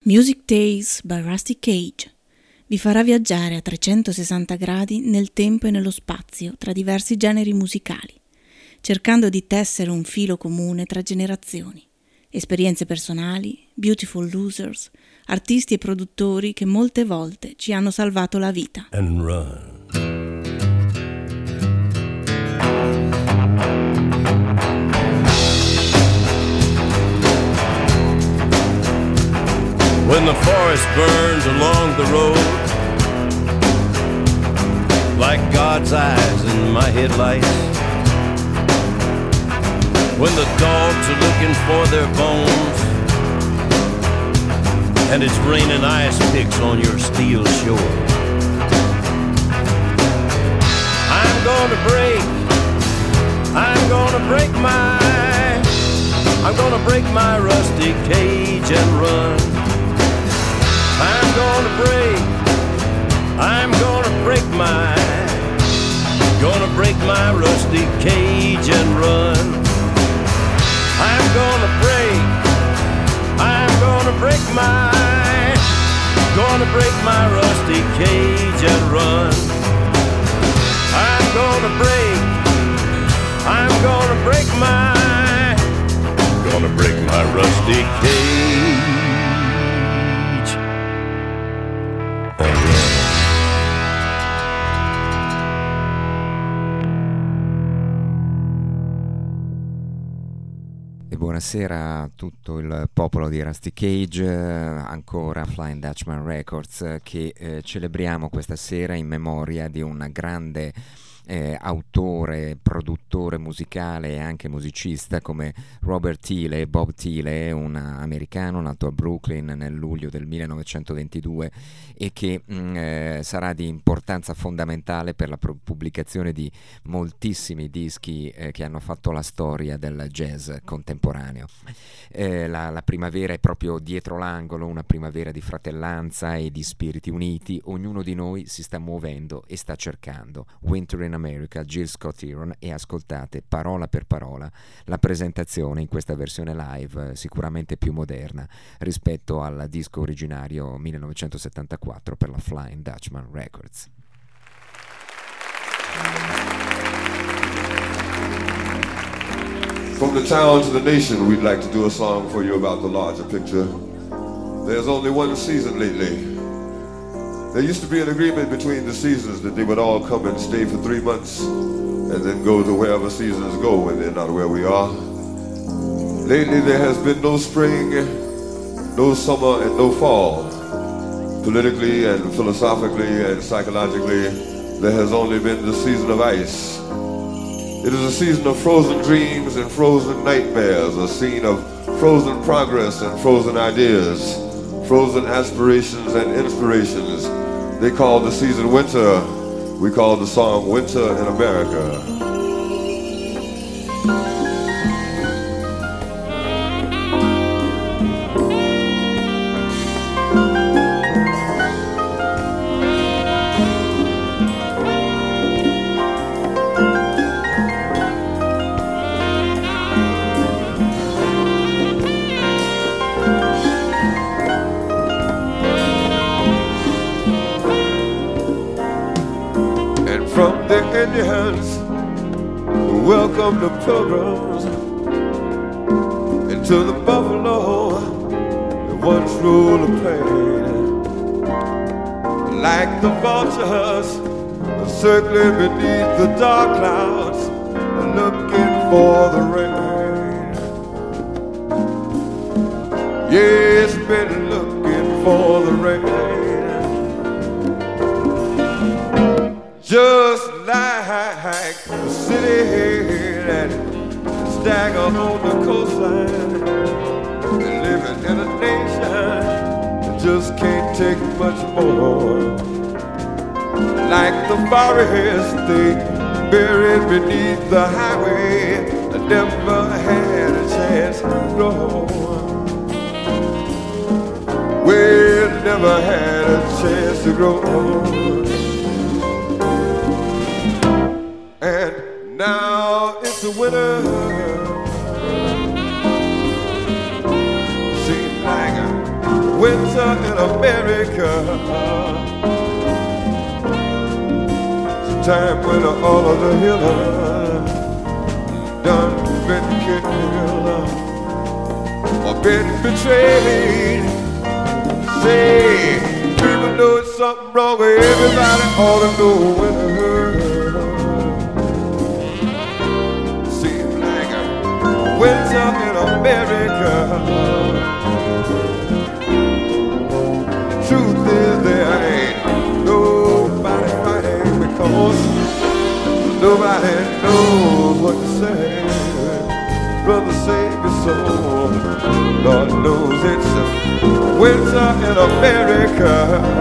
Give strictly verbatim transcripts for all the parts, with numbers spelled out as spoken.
Music Days by Rusty Cage vi farà viaggiare a trecentosessanta gradi nel tempo e nello spazio tra diversi generi musicali, cercando di tessere un filo comune tra generazioni, esperienze personali, beautiful losers, artisti e produttori che molte volte ci hanno salvato la vita. And run. When the forest burns along the road, like God's eyes in my headlights, when the dogs are looking for their bones, and it's raining ice picks on your steel shore, I'm gonna break, I'm gonna break my, I'm gonna break my rusty cage and run. I'm gonna break, I'm gonna break my, gonna break my rusty cage and run. I'm gonna break, I'm gonna break my, gonna break my rusty cage and run. I'm gonna break, I'm gonna break my, gonna break my rusty cage. Buonasera a tutto il popolo di Rusty Cage, ancora Flying Dutchman Records, che eh, celebriamo questa sera in memoria di un grande eh, autore, produttore musicale e anche musicista come Robert Thiele. Bob Thiele, un americano nato a Brooklyn nel luglio del millenovecentoventidue e che mh, eh, sarà di importanza fondamentale per la pro- pubblicazione di moltissimi dischi eh, che hanno fatto la storia del jazz contemporaneo. Eh, la, la primavera è proprio dietro l'angolo, una primavera di fratellanza e di spiriti uniti. Ognuno di noi si sta muovendo e sta cercando. Winter in America, Jill Scott Heron, e ascoltate parola per parola la presentazione in questa versione live, eh, sicuramente più moderna rispetto al disco originario millenovecentosettantaquattro per la Flying Dutchman Records. From the town to the nation, we'd like to do a song for you about the larger picture. There's only one season lately. There used to be an agreement between the seasons that they would all come and stay for three months and then go to wherever seasons go when they're not where we are. Lately there has been no spring, no summer, and no fall. Politically and philosophically and psychologically, there has only been the season of ice. It is a season of frozen dreams and frozen nightmares, a scene of frozen progress and frozen ideas, frozen aspirations and inspirations. They call the season winter. We call the song Winter in America. Indians welcome the pilgrims into the buffalo that once ruled the plain. Like the vultures circling beneath the dark clouds, looking for the rain. Yes, been looking for the rain. Just like the city that stagger on the coastline, living in a nation that just can't take much more. Like the forest they buried beneath the highway, I never had a chance to grow. We never had a chance to grow. And now it's a winter. Seems like a winter winter in America. It's a time when all of the healers done been killed or been betrayed. Say, people know it's something wrong with everybody ought to know when it hurts. Seems like a winter in America. The truth is there ain't nobody fighting because nobody knows what to say. Brother, save your soul. Lord knows it's a winter in America.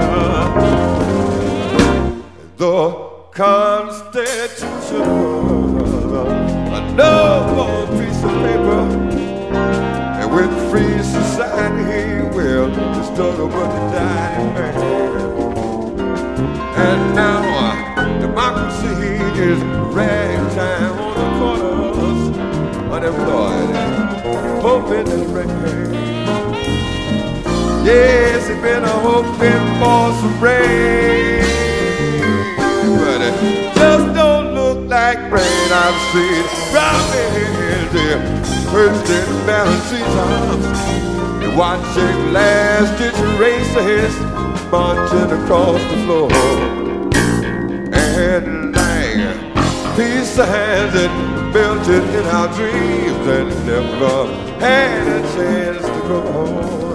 The Constitution was a noble piece of paper, and with free society, well, the struggle but the dying man. And now uh, democracy is ragtime on the corners, unemployed and hoping to rain. Yes, it's been a hoping for some rain, but it just don't look like rain. I've seen robins here, perched in balancing arms, and watching last-ditch races marching across the floor. And like peace signs that melted in our dreams and never had a chance to go home.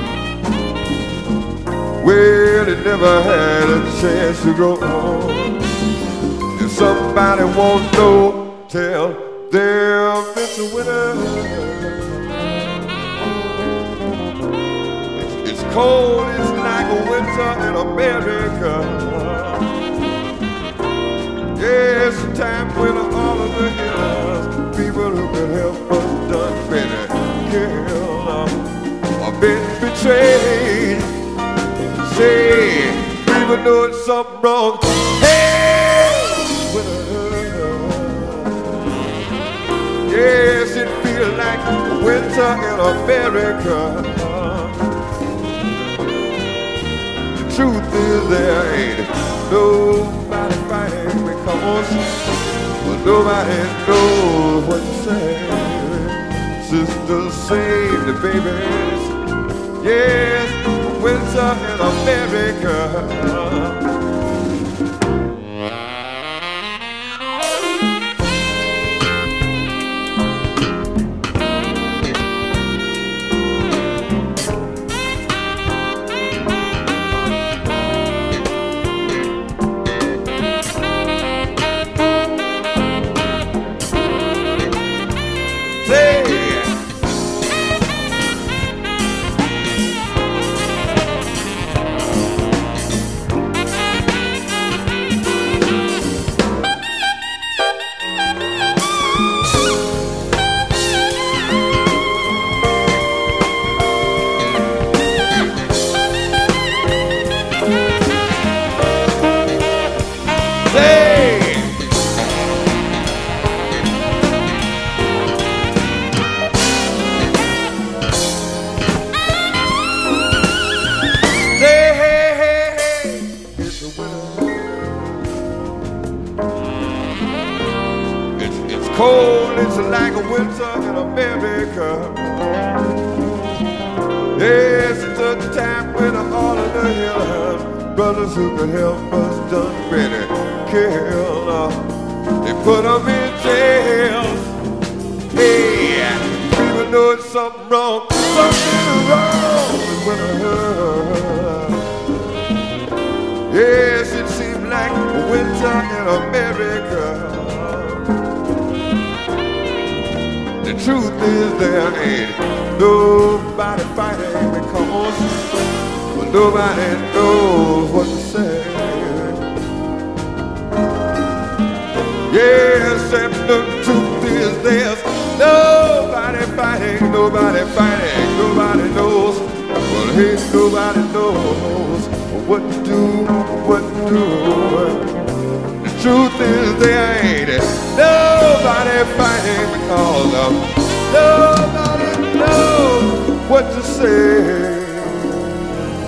Well, it never had a chance to go on. If somebody won't know, tell them it's a winter. It's, it's cold, it's like a winter in America. Yes, a time when all of the healers, people who could help us done been killed or been betrayed. Say, people know it's something wrong. Hey, yes, it feels like winter in America. The truth is there ain't nobody fighting because well, nobody knows what to say. Sisters save the babies. Yes, winter in America. Cold, it's like a winter in America. Yes, it's a time when all of the healers, brothers who could help us done been killed. Uh, they put them in jails. Hey, people know it's something wrong, something wrong with winter. Yes, it seems like winter in America. The truth is there ain't nobody fighting because well, nobody knows what to say. Yes, and the truth is there's nobody fighting, nobody fighting, nobody knows. Well, hey, nobody knows what to do, what to do. The truth is there ain't nobody fighting because um, nobody knows what to say.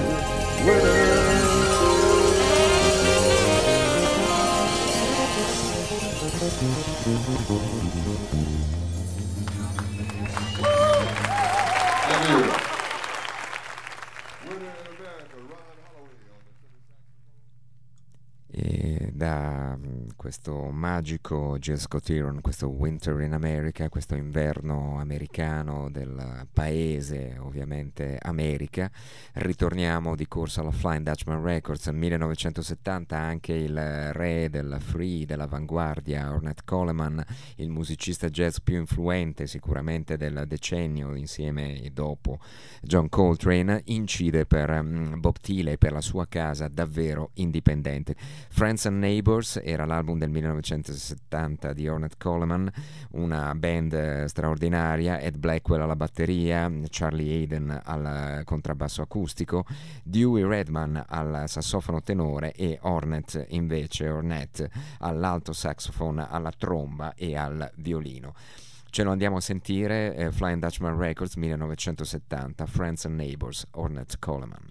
E da questo magico Gil Scott-Heron, questo Winter in America, questo inverno americano del paese, ovviamente America, ritorniamo di corsa alla Flying Dutchman Records. Nel millenovecentosettanta anche il re del free, dell'avanguardia, Ornette Coleman, il musicista jazz più influente sicuramente del decennio, insieme e dopo John Coltrane, incide per um, Bob Tiley, per la sua casa davvero indipendente. Friends and Neighbors era l'album del millenovecentosettanta di Ornette Coleman, una band eh, straordinaria, Ed Blackwell alla batteria, Charlie Hayden al contrabbasso acustico, Dewey Redman al sassofono tenore e Ornette invece, Ornette all'alto saxophone, alla tromba e al violino. Ce lo andiamo a sentire, eh, Flying Dutchman Records millenovecentosettanta, Friends and Neighbors, Ornette Coleman.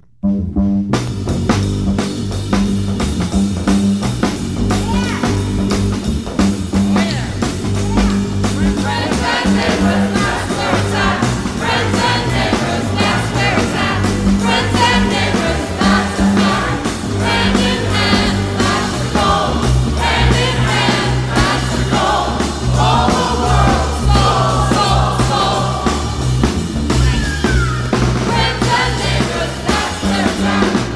Time.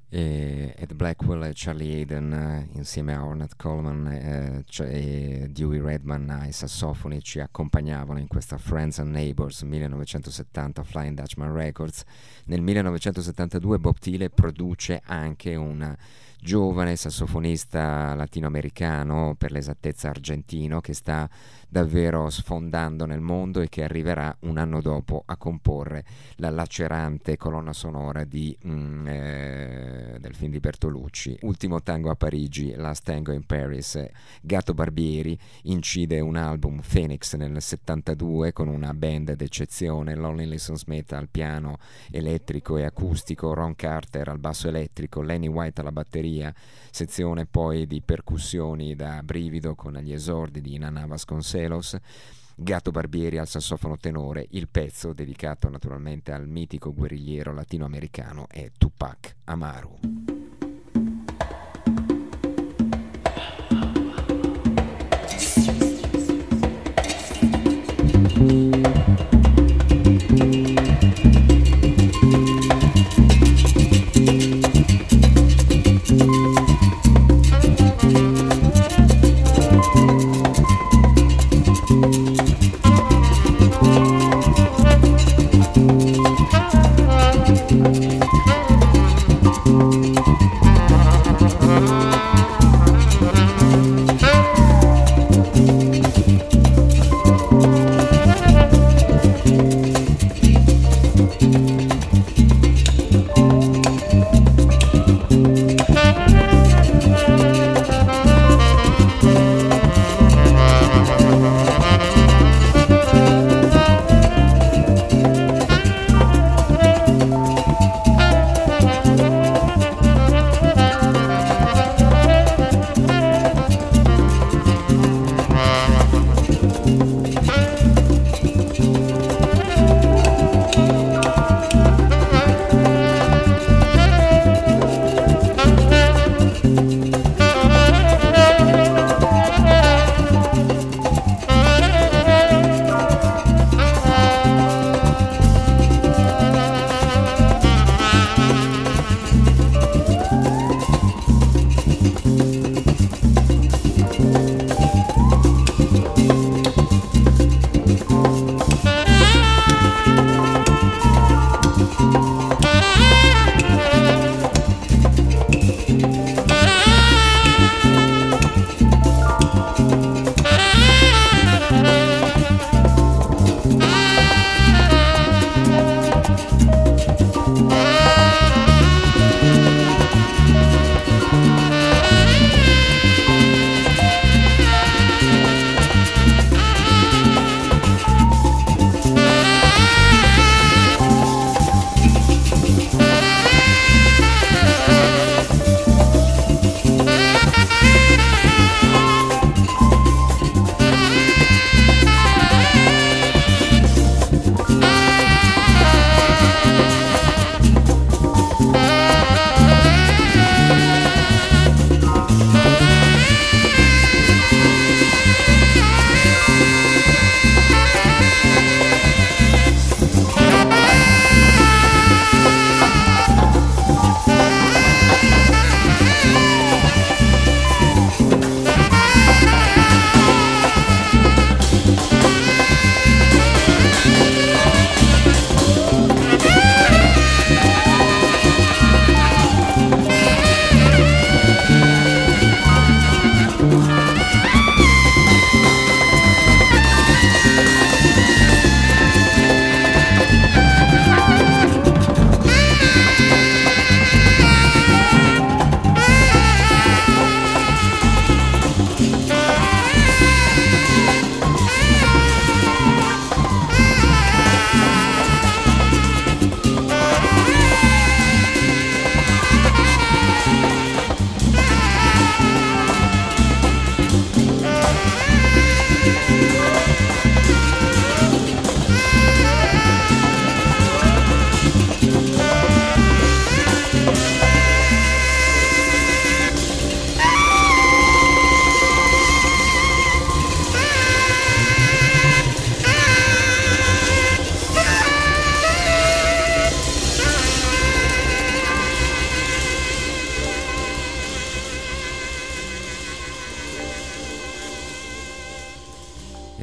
E Ed Blackwell e Charlie Haden eh, insieme a Ornette Coleman eh, cioè, e Dewey Redman ai sassofoni ci accompagnavano in questa Friends and Neighbors millenovecentosettanta Flying Dutchman Records. Nel millenovecentosettantadue Bob Thiele produce anche un giovane sassofonista latinoamericano, per l'esattezza argentino, che sta davvero sfondando nel mondo e che arriverà un anno dopo a comporre la lacerante colonna sonora di, mm, eh, del film di Bertolucci, Ultimo tango a Parigi, Last Tango in Paris. Gato Barbieri incide un album, Phoenix, nel settantadue con una band d'eccezione, Lonnie Liston Smith al piano elettrico e acustico, Ron Carter al basso elettrico, Lenny White alla batteria, sezione poi di percussioni da brivido con gli esordi di Nana Vasconcelos, Gato Barbieri al sassofono tenore. Il pezzo, dedicato naturalmente al mitico guerrigliero latinoamericano, è Tupac Amaru.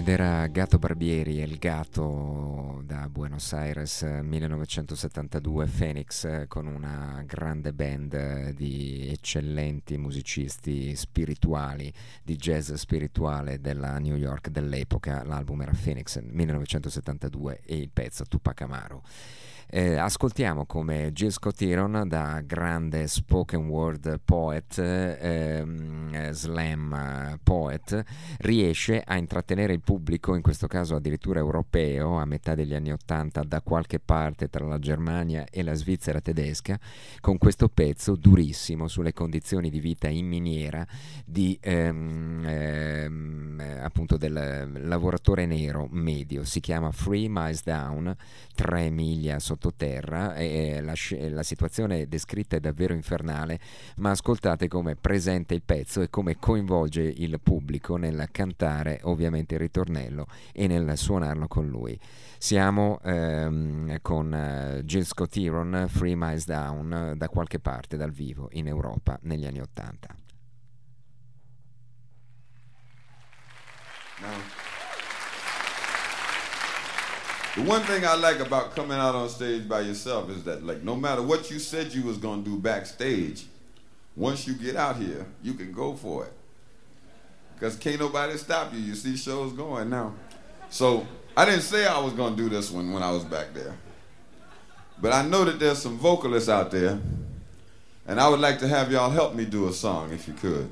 Ed era Gato Barbieri, El Gato, da Buenos Aires, millenovecentosettantadue, Phoenix, con una grande band di eccellenti musicisti spirituali, di jazz spirituale della New York dell'epoca. L'album era Phoenix, millenovecentosettantadue, e il pezzo Tupac Amaru. Eh, ascoltiamo come Gil Scott-Heron, da grande spoken word poet, ehm, slam poet, riesce a intrattenere il pubblico, in questo caso addirittura europeo, a metà degli anni Ottanta, da qualche parte tra la Germania e la Svizzera tedesca, con questo pezzo durissimo sulle condizioni di vita in miniera di ehm, ehm, appunto del lavoratore nero medio. Si chiama Three Miles Down, tre miglia sottoterra, e la, la situazione descritta è davvero infernale, ma ascoltate come presenta il pezzo e come coinvolge il pubblico nel cantare ovviamente il ritornello e nel suonarlo con lui. Siamo ehm, con uh, Gil Scott-Heron, Three Miles Down, da qualche parte dal vivo in Europa negli anni Ottanta. Now, the one thing I like about coming out on stage by yourself is that, like, no matter what you said you was gonna do backstage, once you get out here, you can go for it. Because can't nobody stop you. You see shows going now. So I didn't say I was gonna do this one when I was back there. But I know that there's some vocalists out there, and I would like to have y'all help me do a song if you could.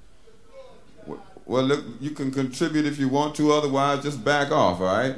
Well, look, you can contribute if you want to, otherwise just back off, all right?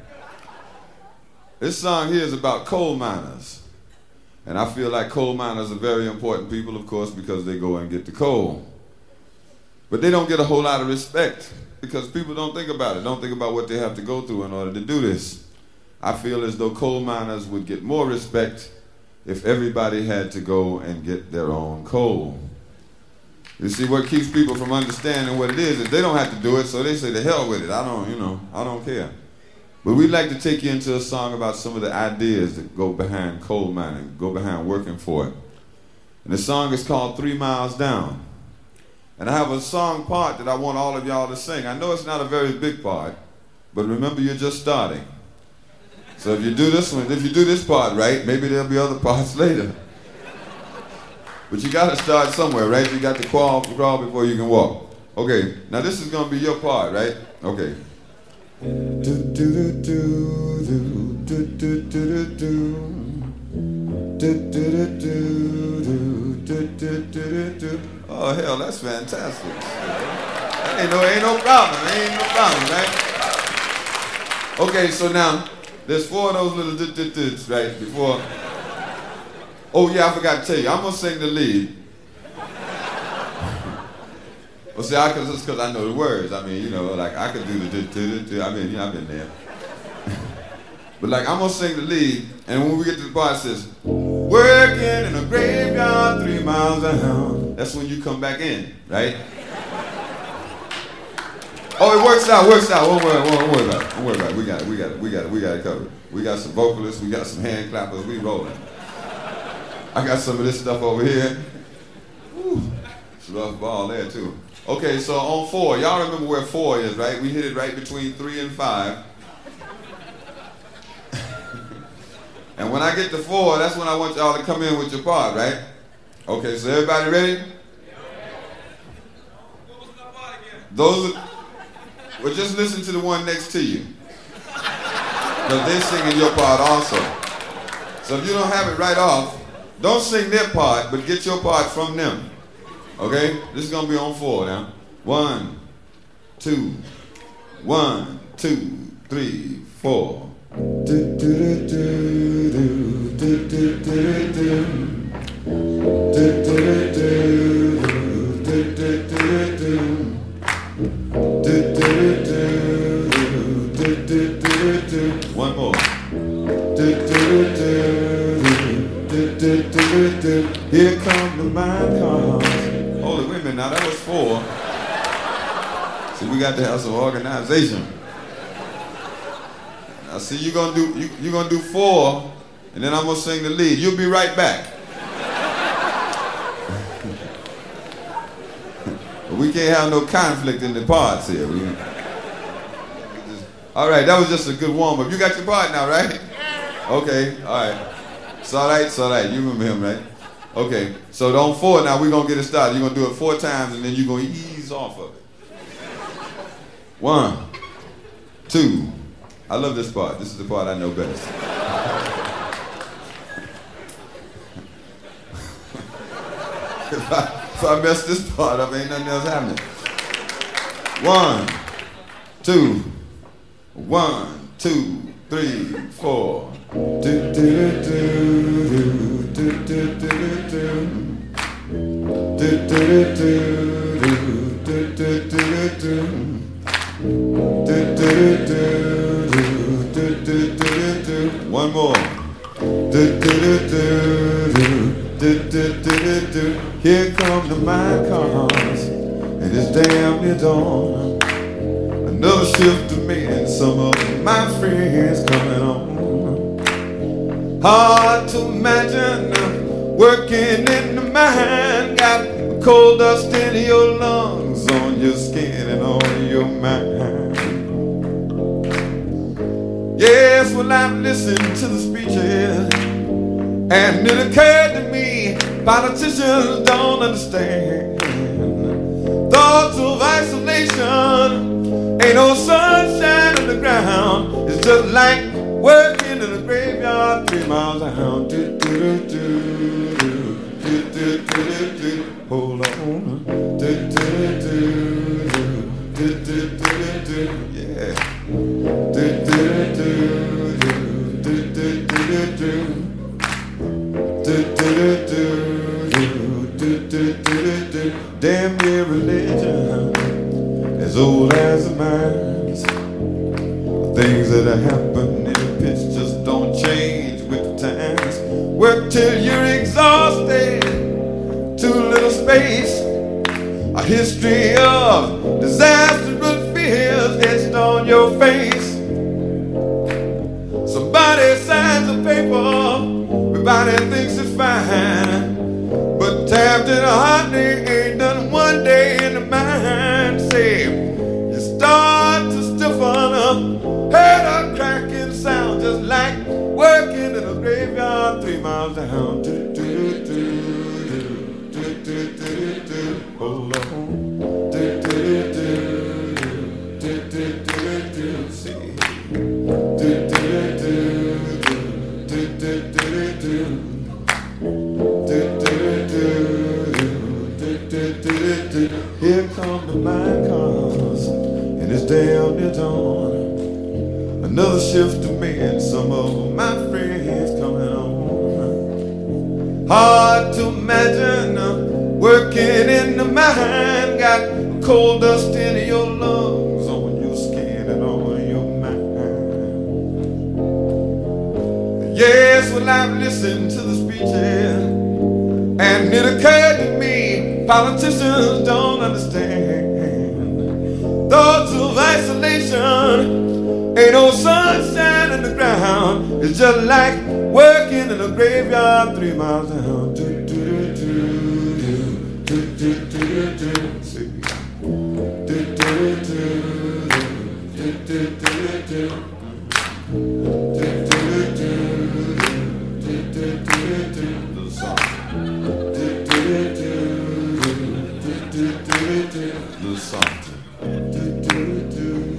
This song here is about coal miners. And I feel like coal miners are very important people, of course, because they go and get the coal. But they don't get a whole lot of respect because people don't think about it, don't think about what they have to go through in order to do this. I feel as though coal miners would get more respect if everybody had to go and get their own coal. You see, what keeps people from understanding what it is is they don't have to do it, so they say, the hell with it. I don't, you know, I don't care. But we'd like to take you into a song about some of the ideas that go behind coal mining, go behind working for it. And the song is called Three Miles Down. And I have a song part that I want all of y'all to sing. I know it's not a very big part, but remember, you're just starting. So if you do this one, if you do this part right, maybe there'll be other parts later. But you got to start somewhere, right? You got to crawl, crawl before you can walk. Okay, now this is going to be your part, right? Okay. Oh, hell, that's fantastic. That ain't no, ain't no problem. Ain't no problem, right? Okay, so now, there's four of those little d-d-d-s, right, before. Oh, yeah, I forgot to tell you. I'm going to sing the lead. Well, see, I, cause, it's because I know the words. I mean, you know, like, I could do the d-d-d-d. I mean, you know, I've been there. But, like, I'm going to sing the lead, and when we get to the part, it says, working in a graveyard three miles down. That's when you come back in, right? Oh, it works out, works out. Don't worry, don't worry about it. Don't worry about it. We got it, we got it, we got it, we got it covered. We got some vocalists, we got some hand clappers, we rolling. I got some of this stuff over here. Whew. It's a rough ball there, too. Okay, so on four, y'all remember where four is, right? We hit it right between three and five. And when I get to four, that's when I want y'all to come in with your part, right? Okay, so everybody ready? Those are, well, just listen to the one next to you. Because they're singing your part also. So if you don't have it right off, don't sing their part, but get your part from them. Okay? This is going to be on four now. One, two, one, two, three, four. Do, do, do, do, do, do, do, do, do. Do, do, do, do, do, do, do, do. One more. Here come the mine cars. Holy, wait a minute, now that was four. See, we got to have some organization. Now, see, you're gonna do you, you're gonna do four, and then I'm gonna sing the lead. You'll be right back. We can't have no conflict in the parts here. We, All right, that was just a good warm-up. You got your part now, right? Okay, all right. It's all right, it's all right. You remember him, right? Okay, so on four now, we're going to get it started. You're going to do it four times, and then you're going to ease off of it. One, two. I love this part. This is the part I know best. if, I, if I mess this part up, ain't nothing else happening. One, two. One, two, three, four. Do, do, do, do, do, do, do, do. Do, do, do, do, do, do, do, do. Do, do, do, do, do, do, do, do. One more. Do, do, do, do, do, do, do, do, do. Here come the mine cars, and it's damn near dawn. Another shift to me and some of my friends coming on. Hard to imagine working in the mine, got coal dust in your lungs, on your skin and on your mind. Yes, well, I've listened to the speeches, and it occurred to me, politicians don't understand. Thoughts of isolation, ain't no sunshine on the ground. It's just like working in a graveyard three miles down. Do, do, do, do, do, do, do, do, do. Hold on. Do, do, do, do, do, do, do, do. Yeah. Do, do, do, do, do, do, do, do, do. Do, do, do, do, do, do, do, do. Damn near religion as old as the mines. Things that are happening in the pits just don't change with the times. Work till you're exhausted, too little space. A history of disaster and fears etched on your face. Somebody signs a paper, everybody thinks it's fine, but tapped in a hot day ain't done one day in the mind. Say, you start to stiffen up, heard a cracking sound, just like working in a graveyard three miles down. Do, do, do, do, do, do, do, do. Hold on. Do, do, do, do, do, do, do. See. Do, do, do, do, do, do, do, do. Here come the mine cars, and it's damn near dawn. Another shift to me and some of my friends coming on. Hard to imagine uh, working in the mine, got coal dust in your lungs, on your skin and on your mind. Yes, well, I've listened to the speeches, and it occurred to me, politicians don't understand. Thoughts of isolation, ain't no sunshine in the ground. It's just like working in a graveyard three miles down. Do, do, do, do, do, do, do, do. See. Do, do, do, do, do, do, do, do. Do, do, do, do, do, do, do. Little song. Do, do, do, do, do, do, do. Little song. Do, do, do.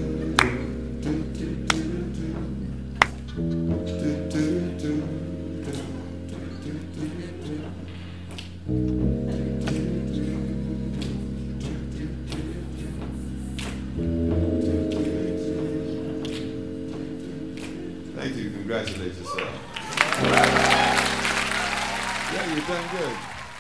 Thank you. Congratulate yourself. Yeah, you've done good.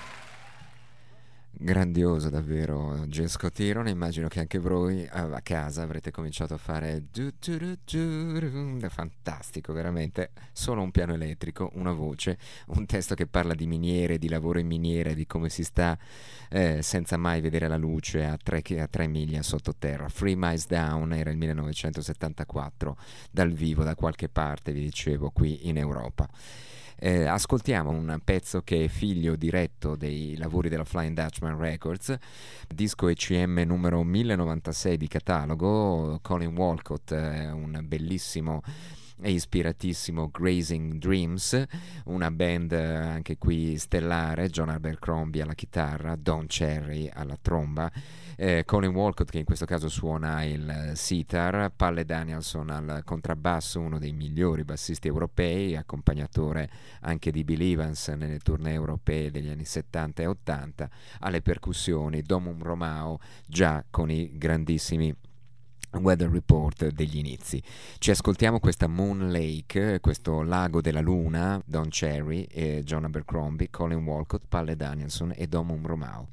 Grandioso davvero Gil Scott Heron. Immagino che anche voi a casa avrete cominciato a fare du, du, du, du, du. Fantastico, veramente. Solo un piano elettrico, una voce, un testo che parla di miniere, di lavoro in miniere, di come si sta eh, senza mai vedere la luce a tre, a tre miglia sottoterra. Three Miles Down era il millenovecentosettantaquattro, dal vivo da qualche parte, vi dicevo, qui in Europa. Eh, ascoltiamo un pezzo che è figlio diretto dei lavori della Flying Dutchman Records, disco E C M numero mille novantasei di catalogo. Colin Walcott è un bellissimo e ispiratissimo Grazing Dreams, una band anche qui stellare, John Abercrombie alla chitarra, Don Cherry alla tromba, eh, Colin Walcott che in questo caso suona il sitar, Palle Danielson al contrabbasso, uno dei migliori bassisti europei, accompagnatore anche di Bill Evans nelle tournée europee degli anni settanta e ottanta, alle percussioni Domum Romao, già con i grandissimi Weather Report degli inizi. Ci ascoltiamo questa Moon Lake, questo lago della luna, Don Cherry e John Abercrombie, Colin Walcott, Palle Danielson e Domum Romao.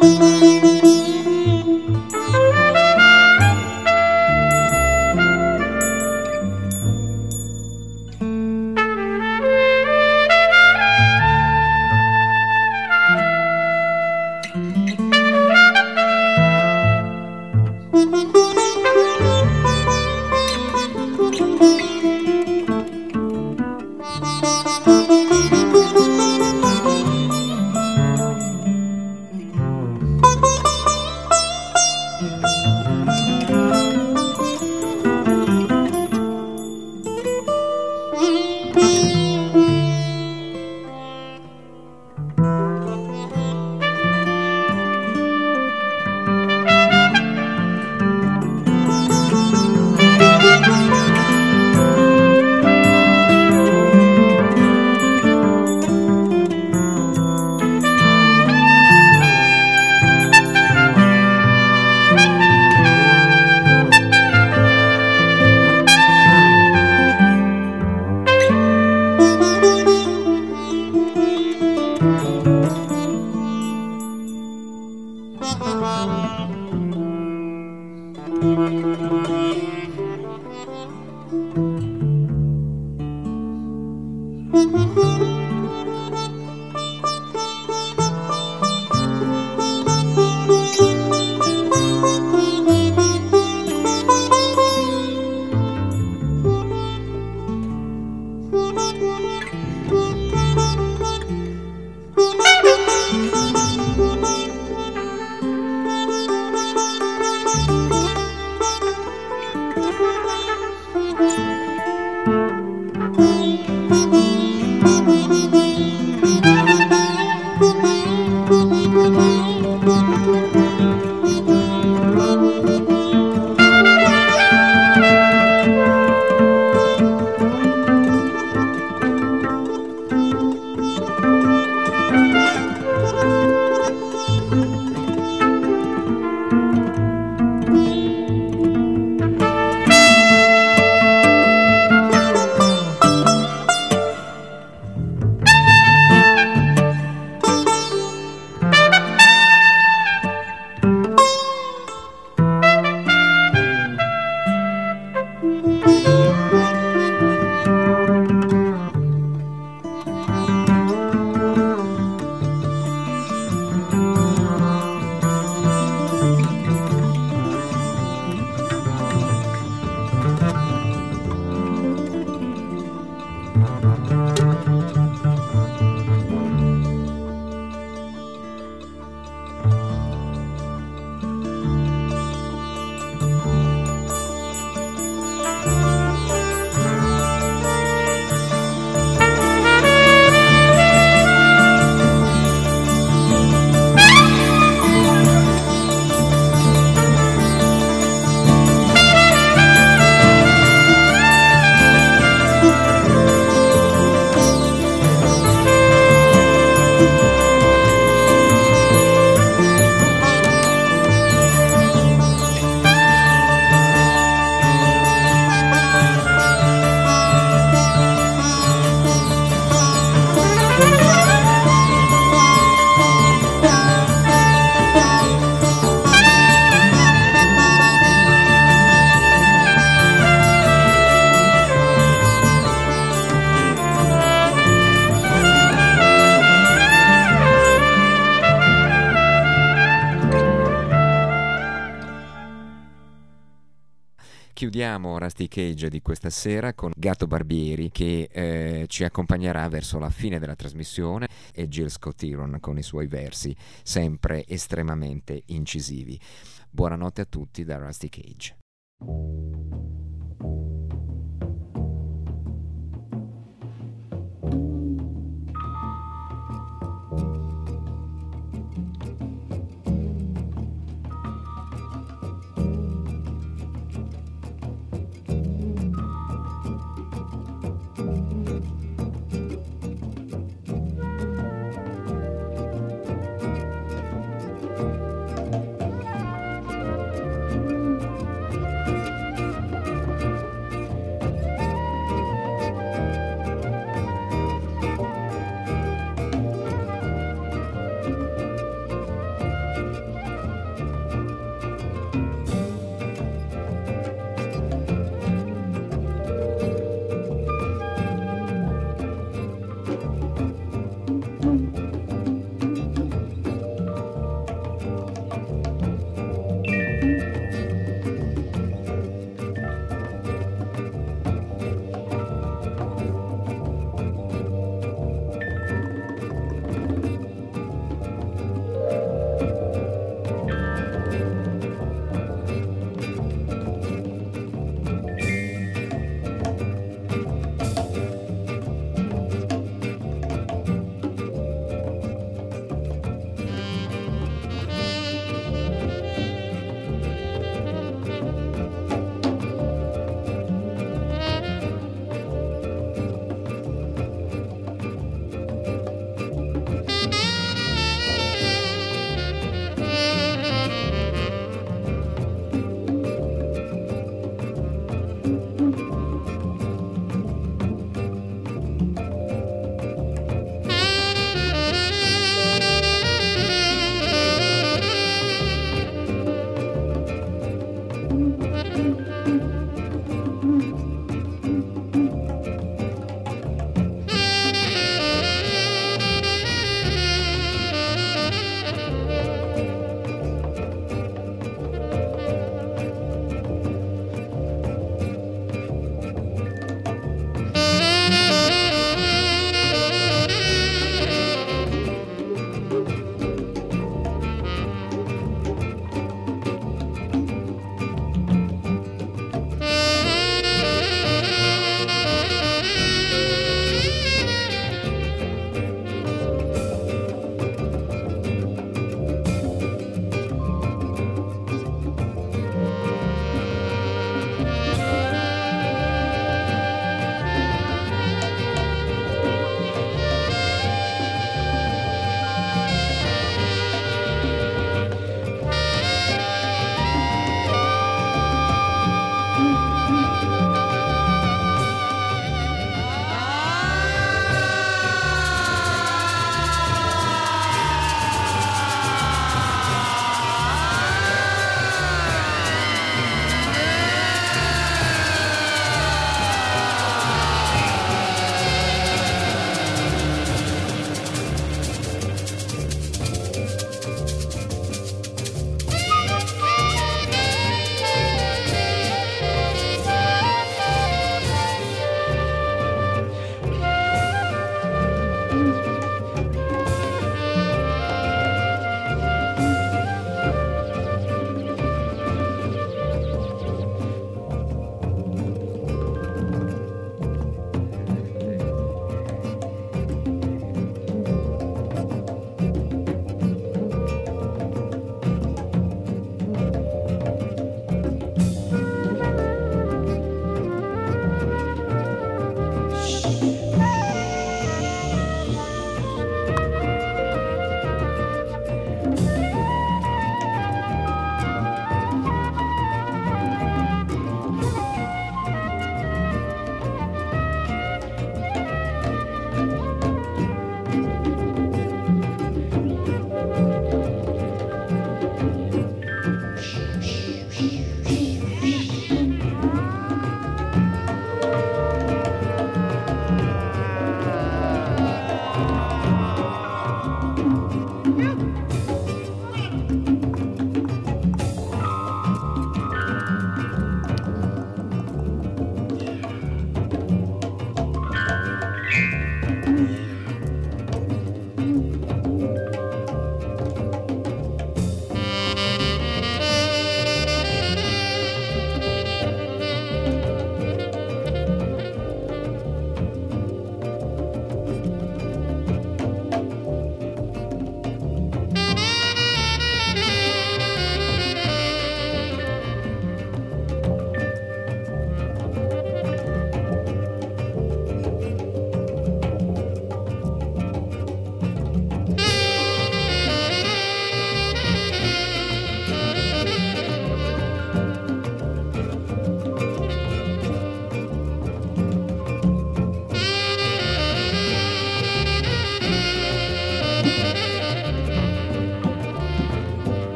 Chiudiamo Rusty Cage di questa sera con Gato Barbieri che eh, ci accompagnerà verso la fine della trasmissione e Gil Scott-Heron con i suoi versi sempre estremamente incisivi. Buonanotte a tutti da Rusty Cage.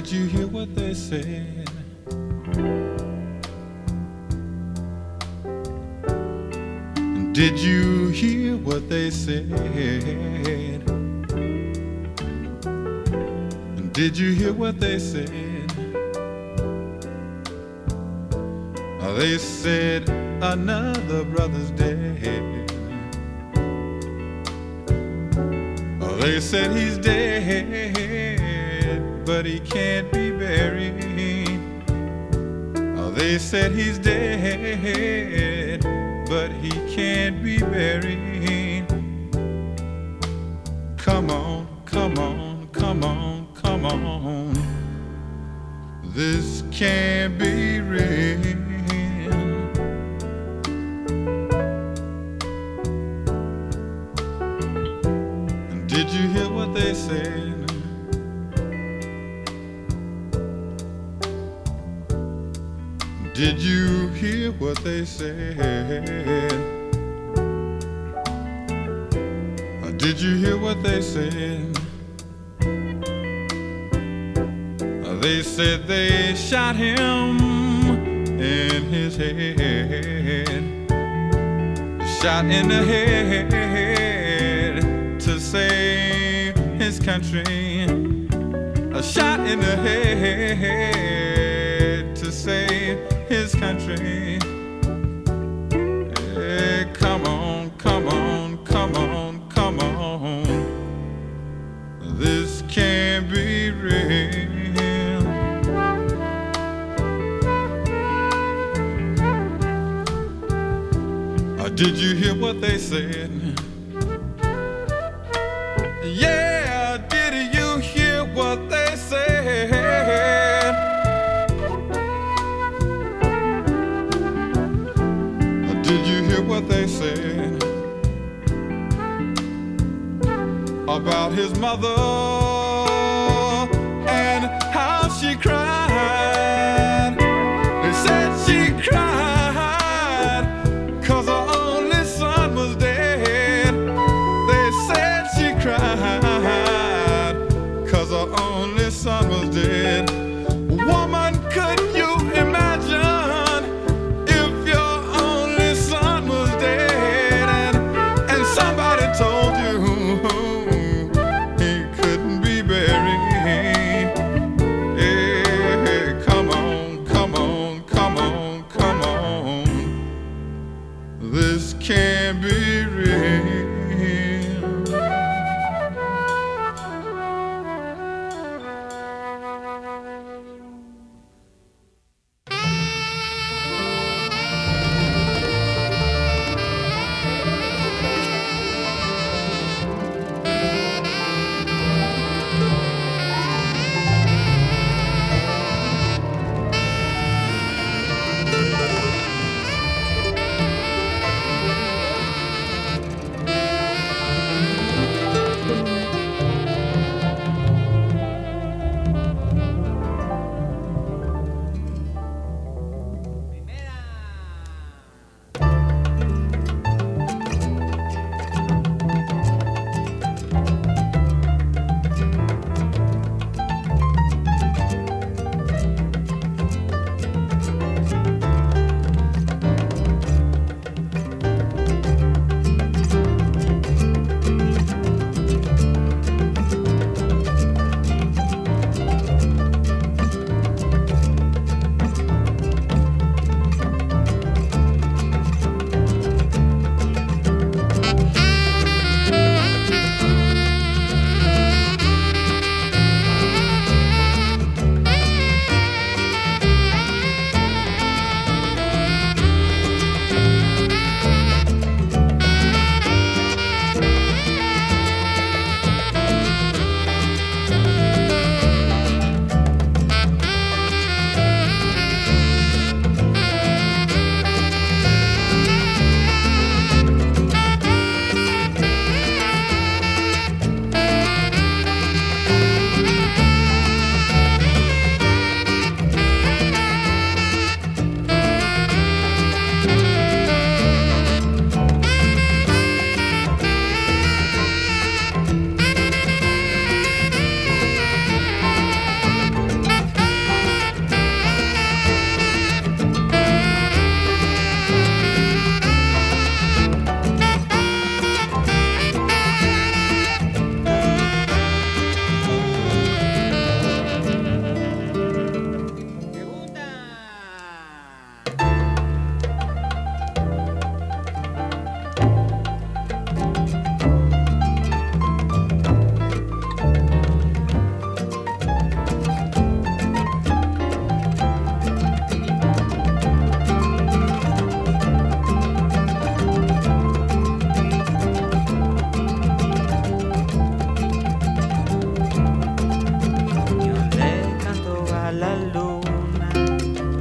Did you hear what they said? Did you hear what they said? Did you hear what they said? They said another brother's dead. They said he's dead, but he can't be buried. They said he's dead, but he can't be buried. Come on, come on, come on, come on. This can't be real. Did you hear what they said? Did you hear what they said? Did you hear what they said? They said they shot him in his head, shot in the head to save his country, a shot in the head to save his country. Hey, come on, come on, come on, come on. This can't be real. Uh, did you hear what they said? Yeah, did you hear what they said? Did you hear what they said about his mother and how she cried? They said she cried 'cause her only son was dead. They said she cried 'cause her only son was dead. Woman, could you imagine if your only son was dead and, and somebody told you he couldn't be buried? Hey, come on, come on, come on, come on. This can't be real.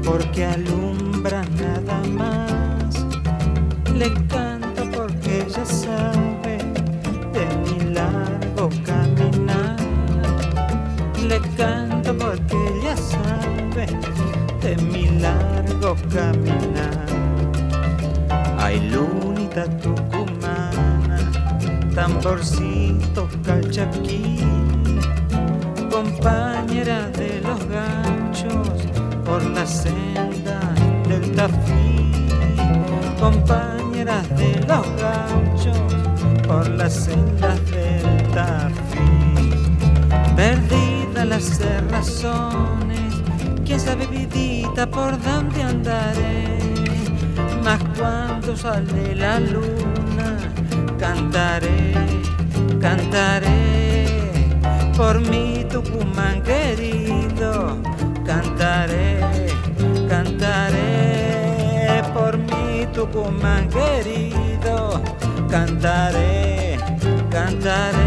porque alumbra nada más. Le canto porque ella sabe de mi largo caminar. Le canto porque ella sabe de mi largo caminar. Ay, lunita tucumana, tamborcito calchaquín, compañera de los ganchos por la senda del Tafí, compañeras de los ganchos por las sendas del Tafí. Perdidas las cerrazones, quién sabe vidita por dónde andaré, mas cuando sale la luna cantaré, cantaré por mi Tucumán querido, cantaré, cantaré por mi Tucumán querido, cantaré, cantaré.